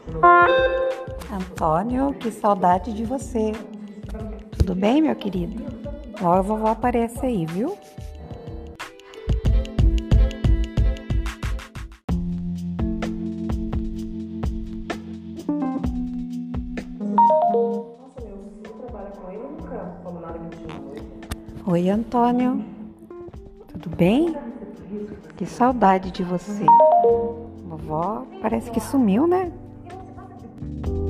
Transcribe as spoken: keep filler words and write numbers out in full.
Antônio, que saudade de você. Tudo bem, meu querido? Logo a vovó aparece aí, viu? Nossa, meu filho trabalha com ele, eu nunca falo nada que eu tinha. Oi, Antônio. Tudo bem? Que saudade de você. Vovó parece que sumiu, né?